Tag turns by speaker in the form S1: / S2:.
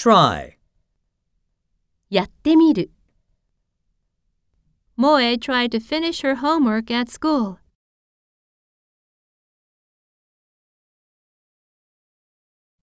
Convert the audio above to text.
S1: Try.
S2: やってみる。
S3: Moe tried to finish her homework at school.